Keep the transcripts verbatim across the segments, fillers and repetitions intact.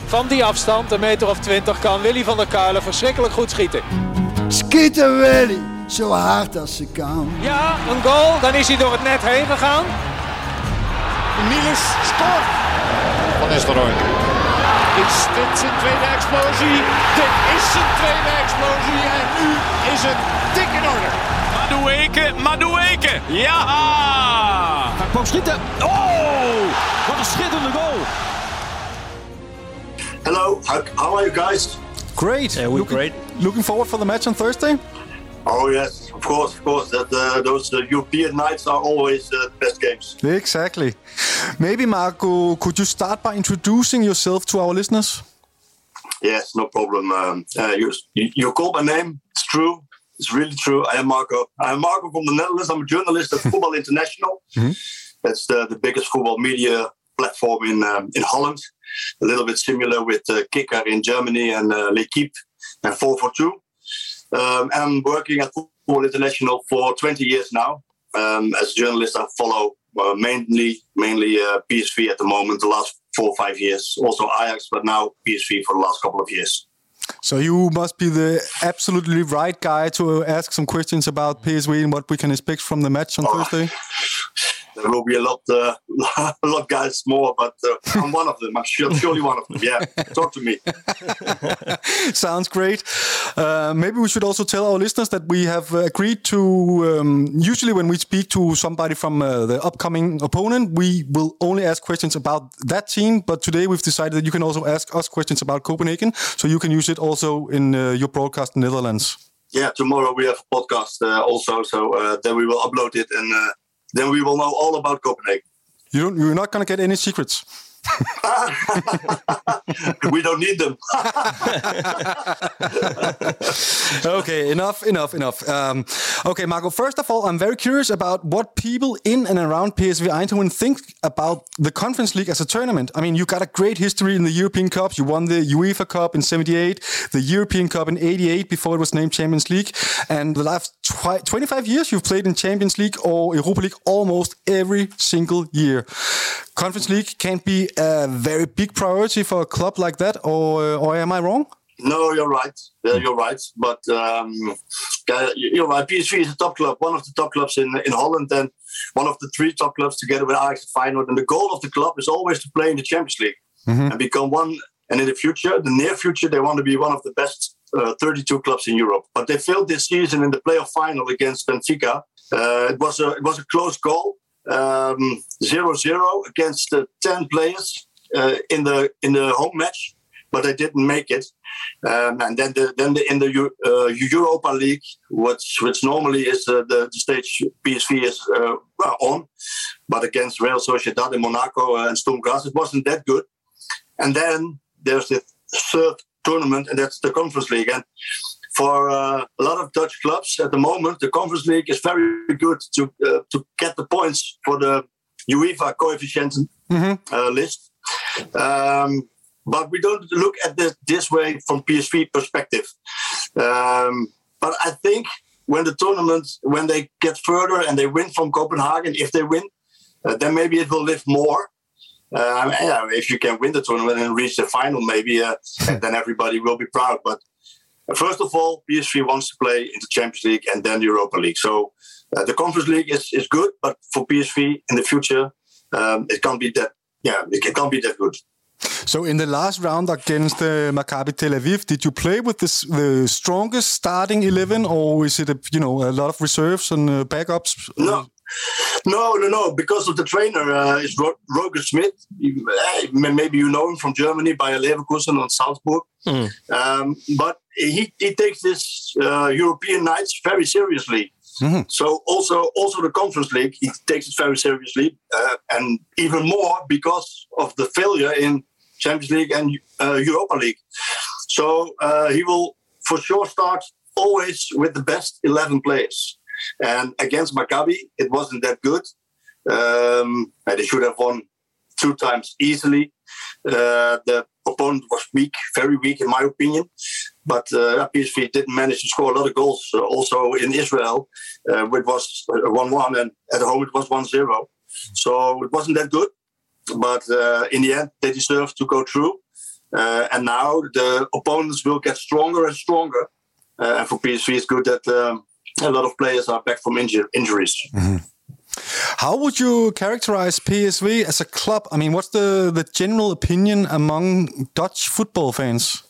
Van die afstand, een meter of twintig, kan Willy van der Kuilen verschrikkelijk goed schieten. Schieten Willy, zo hard als ze kan. Ja, een goal, dan is hij door het net heen gegaan. Niels scoort. Van Nistelrooy. Is dit zijn tweede explosie? Dit is zijn tweede explosie en nu is het dik in orde. Madueke, Madueke, ja! Hij kwam schieten. Oh, wat een schitterende goal. Hello, how, how are you guys? Great. Yeah, we're looking, great. Looking forward for the match on Thursday? Oh yes, of course, of course. That uh, those uh, European nights are always uh, the best games. Exactly. Maybe Marco, could you start by introducing yourself to our listeners? Yes, no problem. Um, uh, you, you you called my name. It's true. It's really true. I am Marco. I am Marco from the Netherlands. I'm a journalist at Football International. Mm-hmm. That's the, the biggest football media platform in um, in Holland. A little bit similar with uh, Kicker in Germany and uh, L'Equipe and four four two. Um, I'm working at Football International for twenty years now. Um, as a journalist, I follow uh, mainly mainly uh, P S V at the moment, the last four or five years. Also Ajax, but now P S V for the last couple of years. So you must be the absolutely right guy to ask some questions about P S V and what we can expect from the match on oh. Thursday. There will be a lot, uh, a lot of guys more, but uh, I'm one of them. I'm sure, surely one of them. Yeah, talk to me. Sounds great. Uh, maybe we should also tell our listeners that we have agreed to. Um, usually, when we speak to somebody from uh, the upcoming opponent, we will only ask questions about that team. But today, we've decided that you can also ask us questions about Copenhagen, so you can use it also in uh, your broadcast in the Netherlands. Yeah, tomorrow we have a podcast uh, also, so uh, then we will upload it and. Uh, Then we will know all about Copenhagen. You don't, you're not going to get any secrets. We don't need them. Okay, enough, enough, enough. Um, okay, Marco, first of all, I'm very curious about what people in and around P S V Eindhoven think about the Conference League as a tournament. I mean, you got a great history in the European Cups. You won the UEFA Cup in seventy-eight, the European Cup in eighty-eight before it was named Champions League. And the last twi- twenty-five years, you've played in Champions League or Europa League almost every single year. Conference League can't be a very big priority for a club like that, or uh, or am I wrong? No, you're right. Uh, you're right. But um, you're right. P S V is a top club, one of the top clubs in in Holland, and one of the three top clubs together with Ajax and Feyenoord. And the goal of the club is always to play in the Champions League mm-hmm. and become one. And in the future, the near future, they want to be one of the best uh, thirty-two clubs in Europe. But they failed this season in the playoff final against Benfica. Uh, it was a it was a close goal. Um, zero zero against uh, ten players uh, in the in the home match, but they didn't make it. Um, and then the, then the, in the uh, Europa League, which which normally is uh, the, the stage P S V is uh, on, but against Real Sociedad and Monaco uh, and Sturm Graz, it wasn't that good. And then there's the third tournament, and that's the Conference League. And for uh, a lot of Dutch clubs at the moment, the Conference League is very good to uh, to get the points for the UEFA coefficient mm-hmm. uh, list. Um, but we don't look at this this way from P S V perspective. Um, but I think when the tournament, when they get further and they win from Copenhagen, if they win, uh, then maybe it will live more. Um, yeah, if you can win the tournament and reach the final, maybe uh, then everybody will be proud. But first of all, P S V wants to play in the Champions League and then the Europa League. So uh, the Conference League is, is good, but for P S V in the future, um, it can't be that. Yeah, it can't be that good. So in the last round against uh, Maccabi Tel Aviv, did you play with this, the strongest starting eleven, or is it a, you know a lot of reserves and uh, backups? No. No, no, no. Because of the trainer, uh, is Ro- Roger Schmidt. Maybe you know him from Germany, Bayer Leverkusen and Salzburg. Mm. Um, but he, he takes this uh, European nights very seriously. Mm-hmm. So also, also the Conference League, he takes it very seriously, uh, and even more because of the failure in Champions League and uh, Europa League. So uh, he will for sure start always with the best eleven players. And against Maccabi, it wasn't that good. Um, they should have won two times easily. Uh, the opponent was weak, very weak in my opinion. But uh, P S V didn't manage to score a lot of goals. Uh, also in Israel, uh, it was one one, and at home it was one zero. So it wasn't that good. But uh, in the end, they deserved to go through. Uh, and now the opponents will get stronger and stronger. Uh, and for P S V, it's good that um, a lot of players are back from inju- injuries. Mm-hmm. How would you characterize P S V as a club? I mean, what's the, the general opinion among Dutch football fans?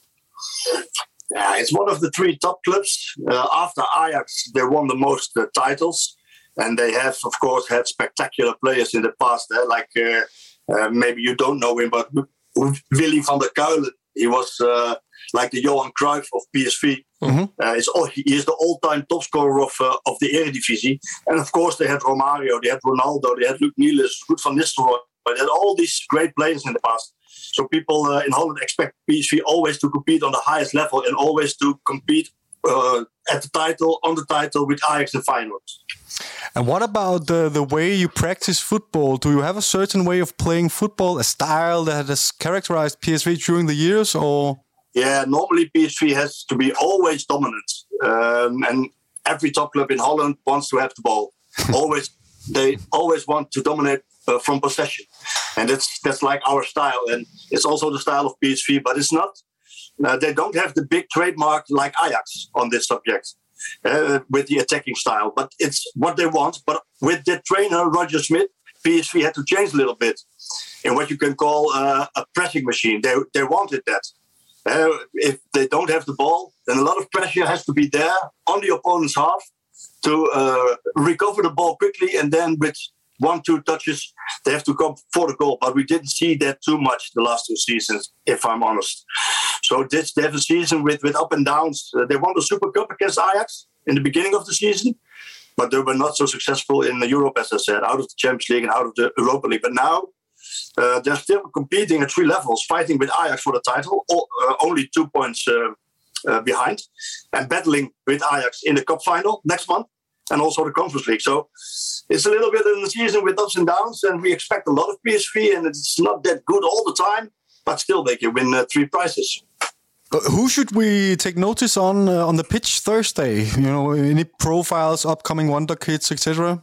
Yeah, it's one of the three top clubs. Uh, after Ajax, they won the most uh, titles. And they have, of course, had spectacular players in the past. Eh? Like, uh, uh, maybe you don't know him, but Willy van der Kuilen. He was uh, like the Johan Cruyff of P S V. Mm-hmm. Uh, it's all, he is the all-time top scorer of uh, of the Eredivisie. And of course, they had Romario, they had Ronaldo, they had Luc Niels, Ruud van Nistelrooy. They had all these great players in the past. So people uh, in Holland expect P S V always to compete on the highest level and always to compete uh, at the title, on the title with Ajax and Feyenoord. And what about the, the way you practice football? Do you have a certain way of playing football, a style that has characterized P S V during the years, or...? Yeah, normally P S V has to be always dominant. Um, and every top club in Holland wants to have the ball. always, They always want to dominate uh, from possession. And that's that's like our style. And it's also the style of P S V, but it's not. Uh, they don't have the big trademark like Ajax on this subject. Uh, with the attacking style, but it's what they want. But with the trainer Roger Smith, P S V had to change a little bit in what you can call uh, a pressing machine. They they wanted that. Uh, if they don't have the ball, then a lot of pressure has to be there on the opponent's half to uh, recover the ball quickly, and then with one, two touches, they have to come for the goal. But we didn't see that too much the last two seasons, if I'm honest. So this they have a season with, with up and downs. Uh, they won the Super Cup against Ajax in the beginning of the season, but they were not so successful in Europe, as I said, out of the Champions League and out of the Europa League. But now uh, they're still competing at three levels, fighting with Ajax for the title, all, uh, only two points uh, uh, behind, and battling with Ajax in the cup final next month, and also the Conference League. So it's a little bit in the season with ups and downs, and we expect a lot of P S V, and it's not that good all the time, but still they can win uh, three prizes. Who should we take notice on uh, on the pitch Thursday? You know, any profiles, upcoming wonder kids, et cetera?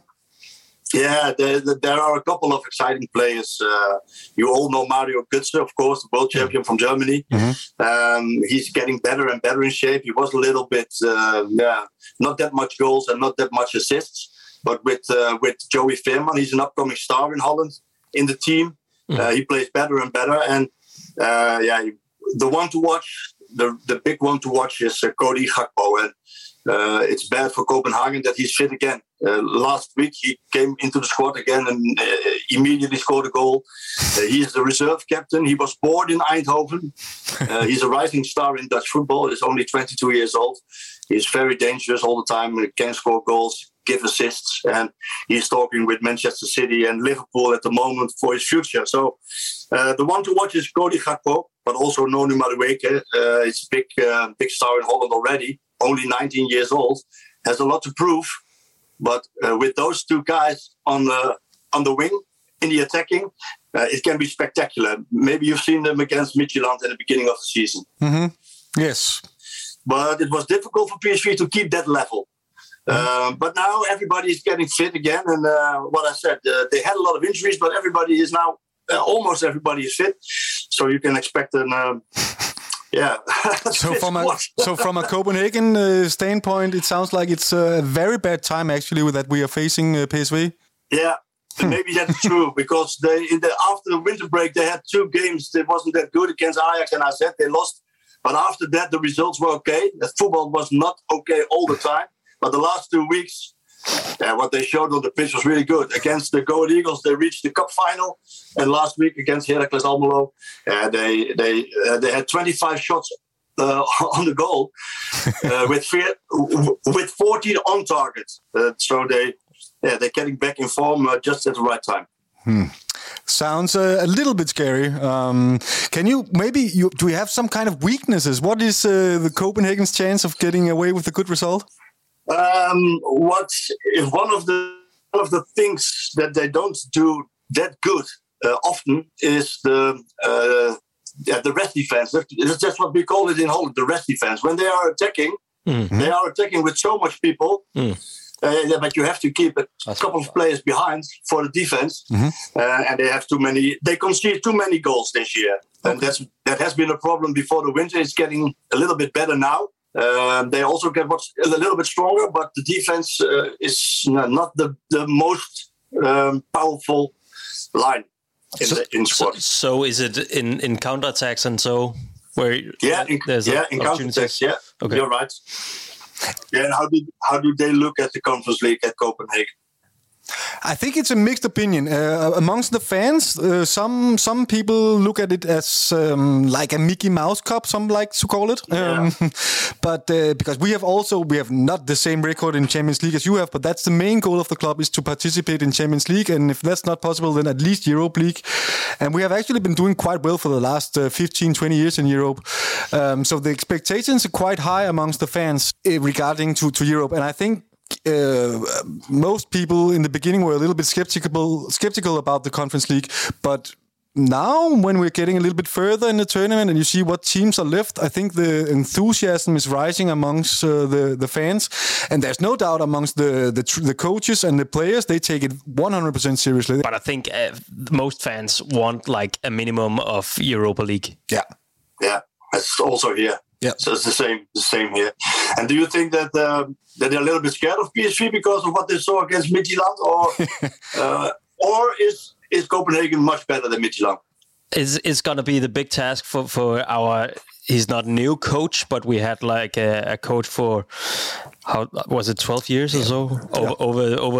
Yeah, there, there are a couple of exciting players. Uh, you all know Mario Götze, of course, the world champion from Germany. Mm-hmm. Um, he's getting better and better in shape. He was a little bit, uh, yeah, not that much goals and not that much assists. But with uh, with Joey Veerman, he's an upcoming star in Holland in the team. Mm-hmm. Uh, he plays better and better. And uh, yeah, the one to watch, the the big one to watch is uh, Cody Gakpo. And uh, it's bad for Copenhagen that he's fit again. Uh, last week he came into the squad again and uh, immediately scored a goal. Uh, he is the reserve captain. He was born in Eindhoven. Uh, he's a rising star in Dutch football. He's only twenty-two years old. He's very dangerous all the time. He can score goals, give assists, and he's talking with Manchester City and Liverpool at the moment for his future. So uh, the one to watch is Cody Gakpo, but also Nonu Madueke. Uh, he's a big, uh, big star in Holland already. Only nineteen years old, has a lot to prove. But uh, with those two guys on the on the wing in the attacking, uh, it can be spectacular. Maybe you've seen them against Midtjylland at the beginning of the season. Mm-hmm. Yes, but it was difficult for P S V to keep that level. Mm-hmm. Uh, but now everybody is getting fit again, and uh, what I said, uh, they had a lot of injuries, but everybody is now uh, almost everybody is fit. So you can expect an. Uh, Yeah. so from a so from a Copenhagen uh, standpoint, it sounds like it's a very bad time actually with that we are facing uh, P S V. Yeah, maybe that's true because they in the after the winter break they had two games that wasn't that good against Ajax and A Z. They lost, but after that the results were okay. The football was not okay all the time, but the last two weeks, yeah, what they showed on the pitch was really good. Against the Go Ahead Eagles, they reached the cup final, and last week against Heracles Almelo, uh, they they uh, they had twenty-five shots uh, on the goal uh, with fear, with fourteen on target. Uh, so they yeah they're getting back in form uh, just at the right time. Hmm. Sounds uh, a little bit scary. Um, can you maybe you do you have some kind of weaknesses? What is uh, the Copenhagen's chance of getting away with a good result? Um, what is one of the one of the things that they don't do that good uh, often is the uh, yeah, the rest defense. That's just what we call it in Holland, the rest defense. When they are attacking, mm-hmm. they are attacking with so much people. Mm. Uh, yeah, but you have to keep a That's couple of players behind for the defense, mm-hmm. uh, and they have too many. They concede too many goals this year, okay. and that's that has been a problem before the winter. It's getting a little bit better now. Um, they also get what's a little bit stronger, but the defense uh, is not the the most um, powerful line in so, the in squad. So, so is it in in counterattacks and so where? Yeah, in, there's yeah, in counterattacks. Yeah, okay. You're right. Yeah, and how do how do they look at the Conference League at Copenhagen? I think it's a mixed opinion uh, amongst the fans. Uh, some some people look at it as um, like a Mickey Mouse Cup, some like to call it. Yeah. Um, but uh, because we have also we have not the same record in Champions League as you have, but that's the main goal of the club is to participate in Champions League. And if that's not possible, then at least Europa League. And we have actually been doing quite well for the last uh, fifteen, twenty years in Europe. Um, so the expectations are quite high amongst the fans uh, regarding to, to Europe. And I think Uh, most people in the beginning were a little bit skeptical skeptical about the Conference League, but now when we're getting a little bit further in the tournament and you see what teams are left, I think the enthusiasm is rising amongst uh, the the fans, and there's no doubt amongst the the, tr- the coaches and the players, they take it one hundred percent seriously. But I think uh, most fans want like a minimum of Europa League. Yeah, yeah, that's also here. Yeah, so it's the same, the same here. And do you think that um, that they're a little bit scared of P S V because of what they saw against Midtjylland, or uh, or is is Copenhagen much better than Midtjylland? It's it's gonna be the big task for for our. He's not a new coach, but we had like a, a coach for how was it twelve years or so over yeah. over over,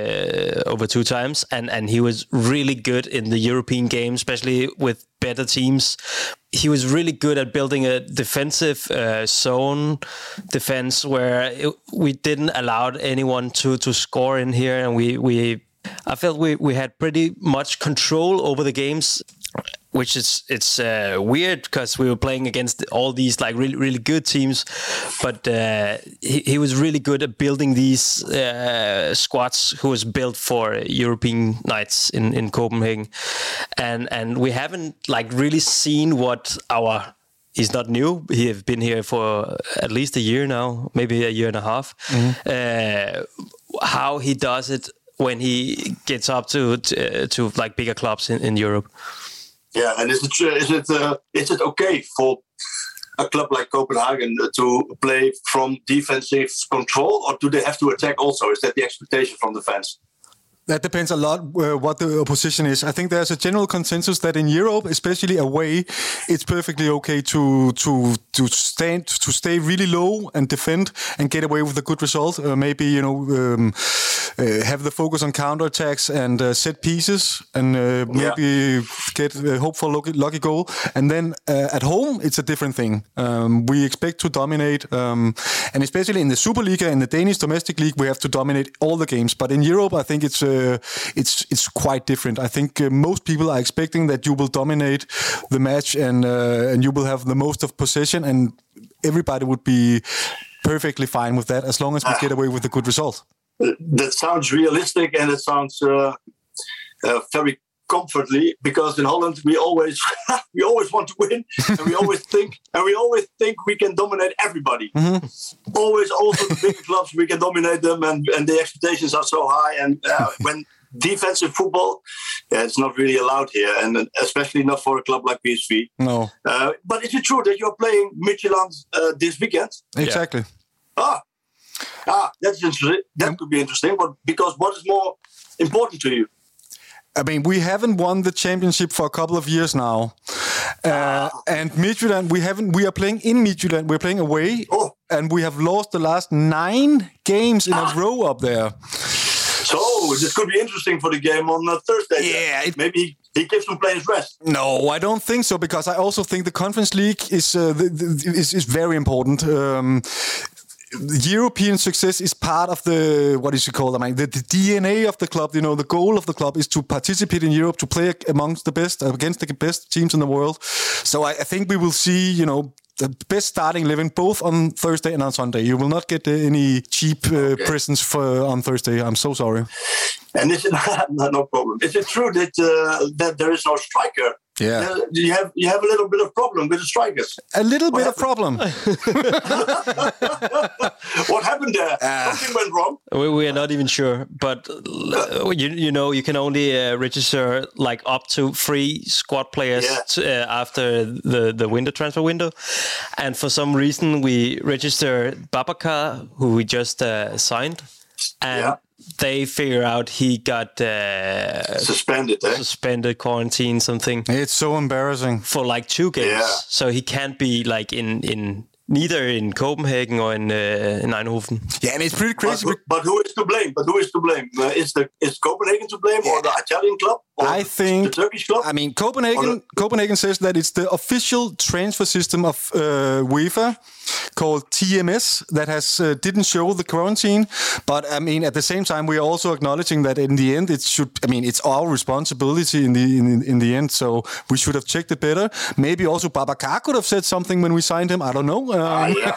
uh, over two times, and and he was really good in the European game, especially with better teams. He was really good at building a defensive uh, zone defense where it, we didn't allow anyone to to score in here, and we we I felt we we had pretty much control over the games. Which is it's uh, weird because we were playing against all these like really really good teams, but uh, he, he was really good at building these uh, squads who was built for European nights in, in Copenhagen, and and we haven't like really seen what our. He's not new. He have been here for at least a year now, maybe a year and a half. Mm-hmm. Uh, how he does it when he gets up to to, to like bigger clubs in, in Europe. Yeah, and is it is it uh, is it okay for a club like Copenhagen to play from defensive control, or do they have to attack also? Is that the expectation from the fans? That depends a lot uh, what the opposition is. I think there's a general consensus that in Europe, especially away, it's perfectly okay to to to stand to stay really low and defend and get away with a good result. Uh, maybe you know um, uh, have the focus on counterattacks and uh, set pieces, and uh, maybe yeah. get uh, hope for lucky, lucky goal. And then uh, at home, it's a different thing. Um, we expect to dominate, um, and especially in the Superliga, in the Danish domestic league, we have to dominate all the games. But in Europe, I think it's uh, Uh, it's it's quite different. I think uh, most people are expecting that you will dominate the match and uh, and you will have the most of possession, and everybody would be perfectly fine with that as long as we get away with a good result. That sounds realistic, and it sounds uh, uh, very comfortably, because in Holland we always we always want to win, and we always think and we always think we can dominate everybody. Mm-hmm. Always, also the bigger clubs, we can dominate them, and, and the expectations are so high. And uh, when defensive football, yeah, it's not really allowed here, and especially not for a club like P S V. No. Uh, but is it true that you're playing Midtjylland uh, this weekend? Exactly. Yeah. Ah, ah, that's interesting. That could be interesting. But because what is more important to you? I mean, we haven't won the championship for a couple of years now, uh, ah. and Midtjylland, we haven't. We are playing in Midtjylland. We're playing away, oh. and we have lost the last nine games in ah. a row up there. So this could be interesting for the game on uh, Thursday. Yeah, it, maybe he gives some players rest. No, I don't think so, because I also think the Conference League is uh, the, the, is, is very important. Um, European success is part of the, what is it called? I mean, the, the D N A of the club. You know, the goal of the club is to participate in Europe, to play amongst the best, against the best teams in the world. So I, I think we will see, you know, the best starting eleven both on Thursday and on Sunday. You will not get uh, any cheap uh, okay. presents for on Thursday. I'm so sorry. And is it no problem? Is it true that uh, that there is no striker Yeah. Uh, you have you have a little bit of problem with the strikers. A little What bit of problem. What happened there? Uh, Something went wrong. We, we are not even sure, but uh, you you know you can only uh, register like up to three squad players Yeah. t- uh, after the the window transfer window, and for some reason we register Babacar, who we just uh, signed, and Yeah. they figure out he got uh, Suspended, eh? suspended, quarantine, something It's so embarrassing. for like two games, Yeah. so he can't be like in in. Neither in Copenhagen or in uh, in Eindhoven. Yeah, and it's pretty But, crazy. who- but who is to blame? But who is to blame? Uh, is the is Copenhagen to blame, or the Italian club, or I think the Turkish club? I mean, Copenhagen. Or- Copenhagen says that it's the official transfer system of uh, UEFA, called T M S, that has uh, didn't show the quarantine. But I mean, at the same time, we are also acknowledging that in the end, it should. I mean, it's our responsibility in the in, in the end. So we should have checked it better. Maybe also Babacar could have said something when we signed him. I don't know. Um, Ah, yeah.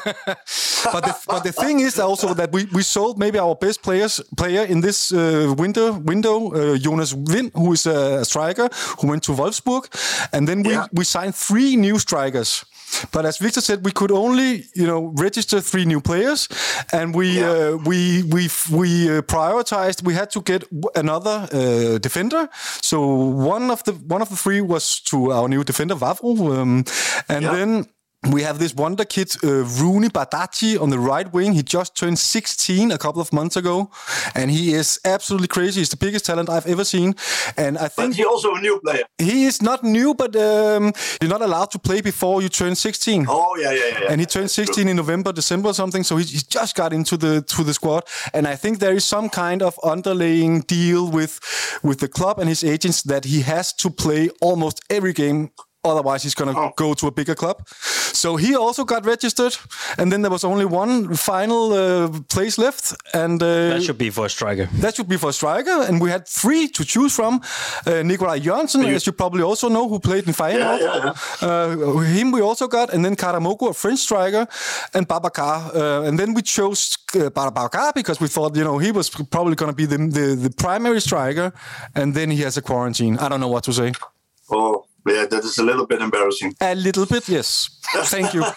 but the, but the thing is also that we, we sold maybe our best players player in this uh, window window uh, Jonas Wind, who is a striker who went to Wolfsburg, and then we, Yeah. we signed three new strikers. But as Victor said, we could only, you know, register three new players, and we Yeah. uh, we we we uh, prioritized. We had to get w- another uh, defender. So one of the one of the three was to our new defender Vavro, um, and Yeah. then. We have this wonder kid, uh, Rooney Badaji, on the right wing. He just turned sixteen a couple of months ago, and he is absolutely crazy. He's the biggest talent I've ever seen. And I But think he also a new player. he is not new, but um, you're not allowed to play before you turn sixteen. Oh yeah, yeah, yeah. yeah. And he turned sixteen in November, December or something, so he, he just got into the to the squad. And I think there is some kind of underlying deal with with the club and his agents that he has to play almost every game. Otherwise, he's going to Oh. go to a bigger club. So he also got registered, and then there was only one final uh, place left, and uh, That should be for a striker. that should be for a striker. And we had three to choose from. Uh, Nikolaj Jørgensen, as you probably also know, who played in Feyenoord. Yeah, yeah, Uh, him we also got, and then Karamoko, a French striker, and Babacar. Uh, and then we chose uh, Babacar because we thought, you know, he was probably going to be the, the the primary striker, and then he has a quarantine. I don't know what to say. Oh, yeah, that is a little bit embarrassing. A little bit, yes. Thank you.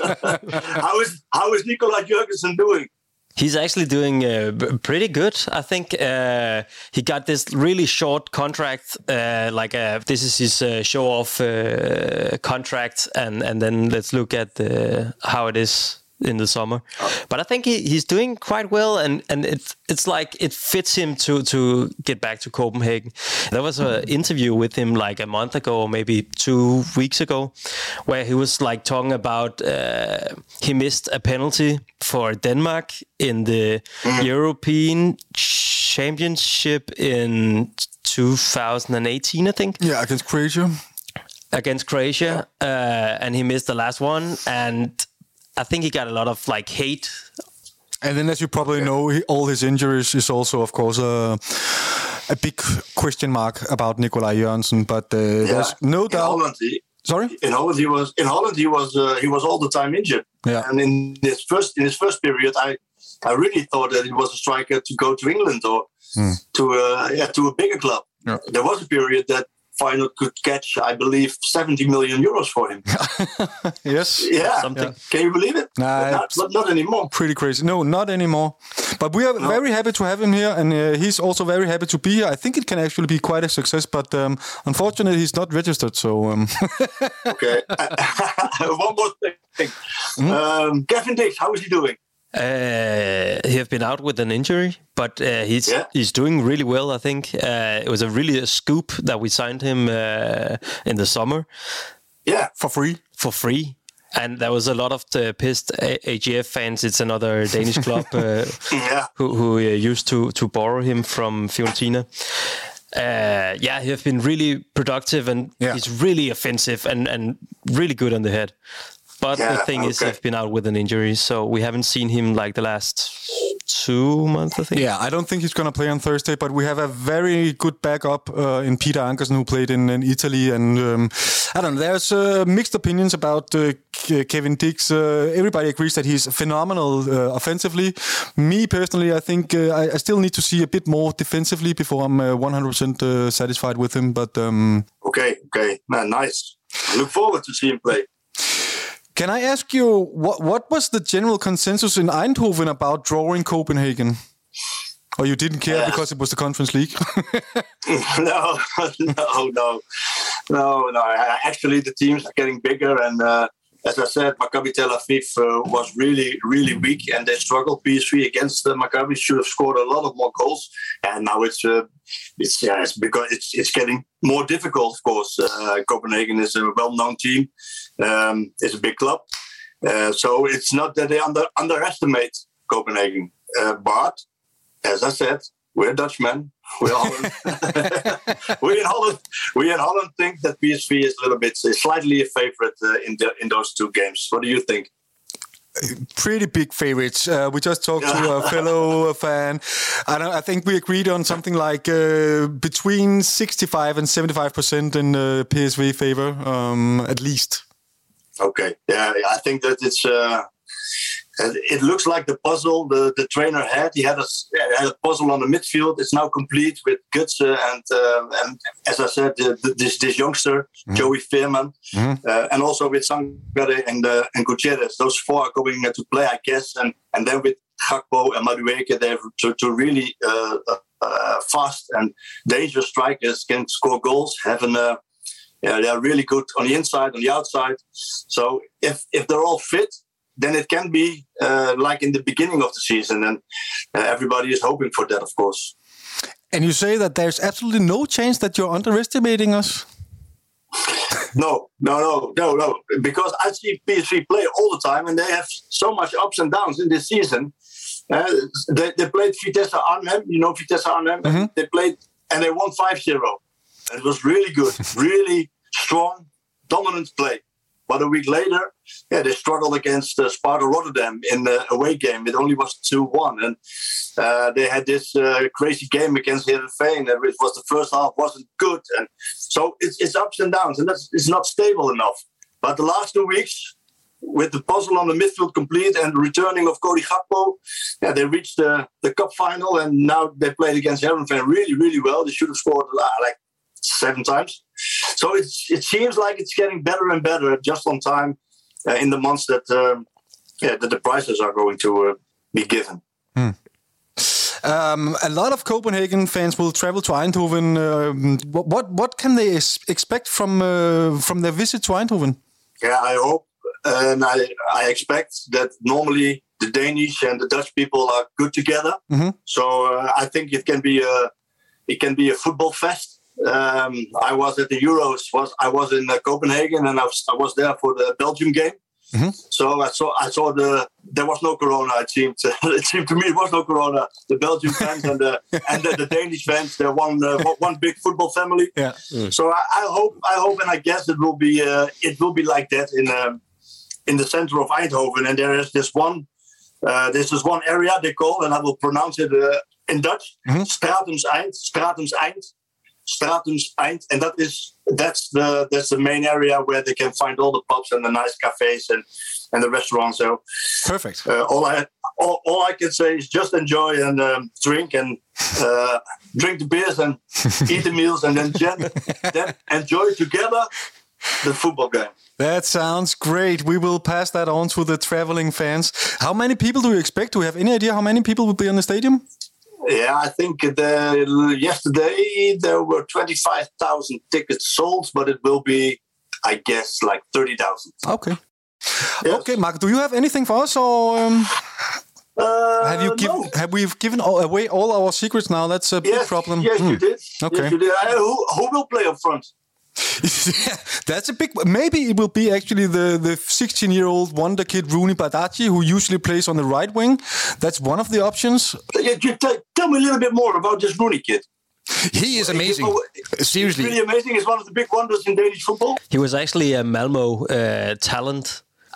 How is how is Nikolaj Jørgensen doing? He's actually doing uh, b- pretty good. I think uh, he got this really short contract, uh, like uh, this is his uh, show-off uh, contract, and, and then let's look at uh, how it is in the summer. But I think he, he's doing quite well, and, and it's it's like it fits him to to get back to Copenhagen. There was an interview with him like a month ago, or maybe two weeks ago, where he was like talking about uh, he missed a penalty for Denmark in the European Championship in two thousand eighteen, I think. Yeah, against Croatia. Against Croatia, uh, and he missed the last one, and I think he got a lot of like hate. And then, as you probably know, he, all his injuries is also, of course, uh, a big question mark about Nikolaj Jørgensen. But uh, there's no In doubt. Holland, he, Sorry. in Holland he was in Holland he was uh, he was all the time injured. Yeah. And in his first in his first period, I I really thought that he was a striker to go to England or to uh, yeah to a bigger club. Yeah. There was a period that Feyenoord could catch, I believe, seventy million euros for him. Yes. Yeah, Something. Can you believe it? Nah, But not, it's- not, not anymore. Pretty crazy. No, not anymore. But we are very happy to have him here, and uh, he's also very happy to be here. I think it can actually be quite a success, but um, unfortunately, he's not registered. So um, Okay. One more thing. Um, Kevin Dix, how is he doing? Uh, he have been out with an injury, but uh, he's Yeah. he's doing really well. I think uh, it was a really a scoop that we signed him uh, in the summer Yeah. for free. for free. And there was a lot of the pissed A- AGF fans. It's another Danish club uh, Yeah. who, who uh, used to to borrow him from Fiorentina. Uh, yeah, he have been really productive, and Yeah. he's really offensive and, and really good on the head. But Yeah, the thing is, okay. he's been out with an injury, so we haven't seen him like the last two months, I think. Yeah, I don't think he's going to play on Thursday, but we have a very good backup uh, in Peter Ankersen, who played in, in Italy. And um, I don't know, there's uh, mixed opinions about uh, uh, Kevin Dix. Uh, everybody agrees that he's phenomenal uh, offensively. Me personally, I think uh, I, I still need to see a bit more defensively before I'm uh, one hundred percent uh, satisfied with him. But um, okay, okay, man, nice. I look forward to see him play. Can I ask you what what was the general consensus in Eindhoven about drawing Copenhagen? Or you didn't care yeah. because it was the Conference League? no, no, no, no, no. Actually, the teams are getting bigger, and uh, as I said, Maccabi Tel Aviv uh, was really, really weak, and they struggled. P S V against uh, Maccabi should have scored a lot of more goals, and now it's uh, it's yeah, it's because it's it's getting more difficult. Of course, uh, Copenhagen is a well-known team. Um, it's a big club, uh, so it's not that they under underestimate Copenhagen, uh, but. As I said, we're Dutchmen. We're Holland. we in Holland. We in Holland think that P S V is a little bit, slightly a favorite uh, in the in those two games. What do you think? Pretty big favorites. Uh, we just talked yeah. to a fellow fan, and I think we agreed on something like uh, between sixty-five and seventy-five percent in uh, P S V favor, um, at least. Okay. Yeah, I think that it's. Uh, It looks like the puzzle the, the trainer had. He had a, had a puzzle on the midfield. It's now complete with Gutse and uh, and as I said, the, the, this this youngster mm-hmm. Joey Veerman, mm-hmm. uh, and also with Sangare and uh, and Gutierrez. Those four are going to play, I guess, and and then with Gakpo and Madueke, they have to to really uh, uh, fast and dangerous strikers can score goals. Having uh, yeah, they are really good on the inside, on the outside. So if if they're all fit, then it can be uh, like in the beginning of the season, and uh, everybody is hoping for that, of course. And you say that there's absolutely no chance that you're underestimating us? no, no, no, no, no. Because I see P S V play all the time, and they have so much ups and downs in this season. Uh, they, they played Vitesse Arnhem, you know Vitesse Arnhem? Mm-hmm. They played, and they won five zero. It was really good, really strong, dominant play. But a week later, yeah, they struggled against uh, Sparta Rotterdam in the away game. It only was two one. And uh, they had this uh, crazy game against Heerenveen. It was the first half wasn't good. And so it's, it's ups and downs, and that's, it's not stable enough. But the last two weeks, with the puzzle on the midfield complete and the returning of Cody Gakpo, yeah, they reached the, the cup final, and now they played against Heerenveen really, really well. They should have scored uh, like seven times. So it's, it seems like it's getting better and better just on time uh, in the months that, um, yeah, that the prizes are going to uh, be given. Hmm. Um, a lot of Copenhagen fans will travel to Eindhoven. Um, what, what what can they expect from uh, from their visit to Eindhoven? Yeah, I hope and I I expect that normally the Danish and the Dutch people are good together. Mm-hmm. So uh, I think it can be a it can be a football fest. Um, I was at the Euros. Was I was in uh, Copenhagen, and I was, I was there for the Belgium game. Mm-hmm. So I saw I saw the there was no corona. It seemed to, it seemed to me it was no corona. The Belgian fans and the and the, the Danish fans, they're one uh, one big football family. Yeah. Mm. So I, I hope I hope and I guess it will be uh, it will be like that in um, in the center of Eindhoven. And there is this one uh, this is one area they call, and I will pronounce it uh, in Dutch. Mm-hmm. Stratums Eind. Stratums Eind. Stratums Eind, and that is that's the that's the main area where they can find all the pubs and the nice cafes and, and the restaurants. So perfect. Uh, all I all, all I can say is just enjoy and um, drink and uh, drink the beers and eat the meals, and then then enjoy together the football game. That sounds great. We will pass that on to the traveling fans. How many people do you expect? Do you have any idea how many people will be in the stadium? Yeah, I think the, yesterday there were twenty-five thousand tickets sold, but it will be, I guess, like thirty thousand. Okay. Yes. Okay, Mark, do you have anything for us, or um, uh, have you given? No. Have we given all, away all our secrets now? That's a big yes, problem. Yes, hmm. you did. Okay. Yes, you did. Uh, who, who will play up front? Yeah, that's a big. Maybe it will be actually the the sixteen-year-old wonder kid Rooney Badaji, who usually plays on the right wing. That's one of the options. Yeah, you t- tell me a little bit more about this Rooney kid. He is amazing. Seriously, he's really amazing. He's one of the big wonders in Danish football. He was actually a Malmo uh, talent.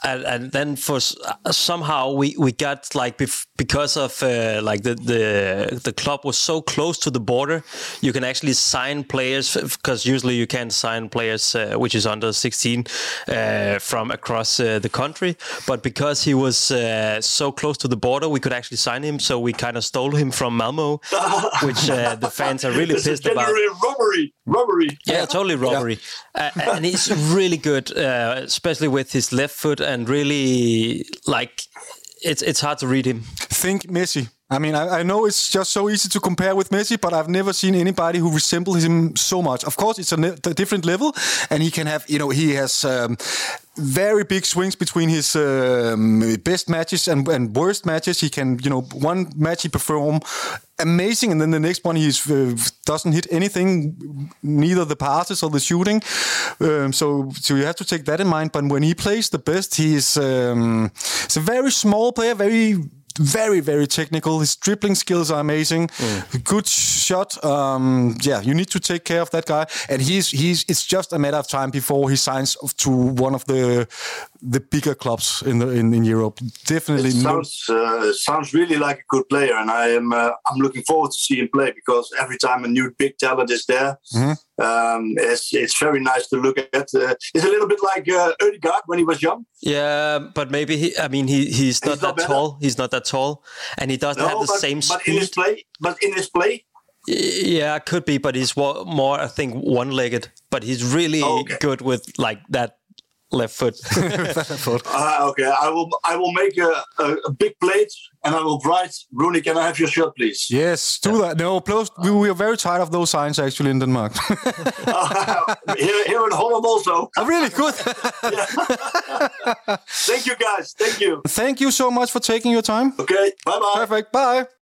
and, and then for somehow we, we got like bef- because of uh, like the, the the club was so close to the border, you can actually sign players because usually you can't sign players uh, which is under sixteen uh, from across uh, the country. But because he was uh, so close to the border, we could actually sign him. So we kind of stole him from Malmo, which uh, the fans are really pissed about. Robbery, robbery. Yeah, totally robbery. Yeah. Uh, and he's really good, uh, especially with his left foot, and really like it's it's hard to read him. Think Messi. I mean, I, I know it's just so easy to compare with Messi, but I've never seen anybody who resembles him so much. Of course, it's a, ne- a different level, and he can have, you know, he has um, very big swings between his um, best matches and, and worst matches. He can, you know, one match he perform amazing, and then the next one he uh, doesn't hit anything, neither the passes or the shooting. Um, so, so you have to take that in mind. But when he plays the best, he is um, he's a very small player, very. Very, very technical. His dribbling skills are amazing. Mm. Good shot. Um, yeah, you need to take care of that guy. And he's he's. It's just a matter of time before he signs to one of the the bigger clubs in the in, in Europe. Definitely. It sounds uh, sounds really like a good player, and I am uh, I'm looking forward to see him play because every time a new big talent is there, mm-hmm. um, it's it's very nice to look at. Uh, it's a little bit like uh, Ødegaard when he was young. Yeah, but maybe he. I mean, he he's not he's that not tall. He's not that tall, and he doesn't no, have the but, same speed. But in his play, but in his play. Yeah, could be, but he's more, I think, one-legged. But he's really oh, okay. good with like that left foot. uh, okay, I will. I will make a, a, a big plate, and I will write, Rooney, can I have your shirt, please? Yes, do yeah. that. No, plus, we, we are very tired of those signs actually in Denmark. uh, here, here in Holland also. Oh, really good. Thank you, guys. Thank you. Thank you so much for taking your time. Okay, bye bye. Perfect. Bye.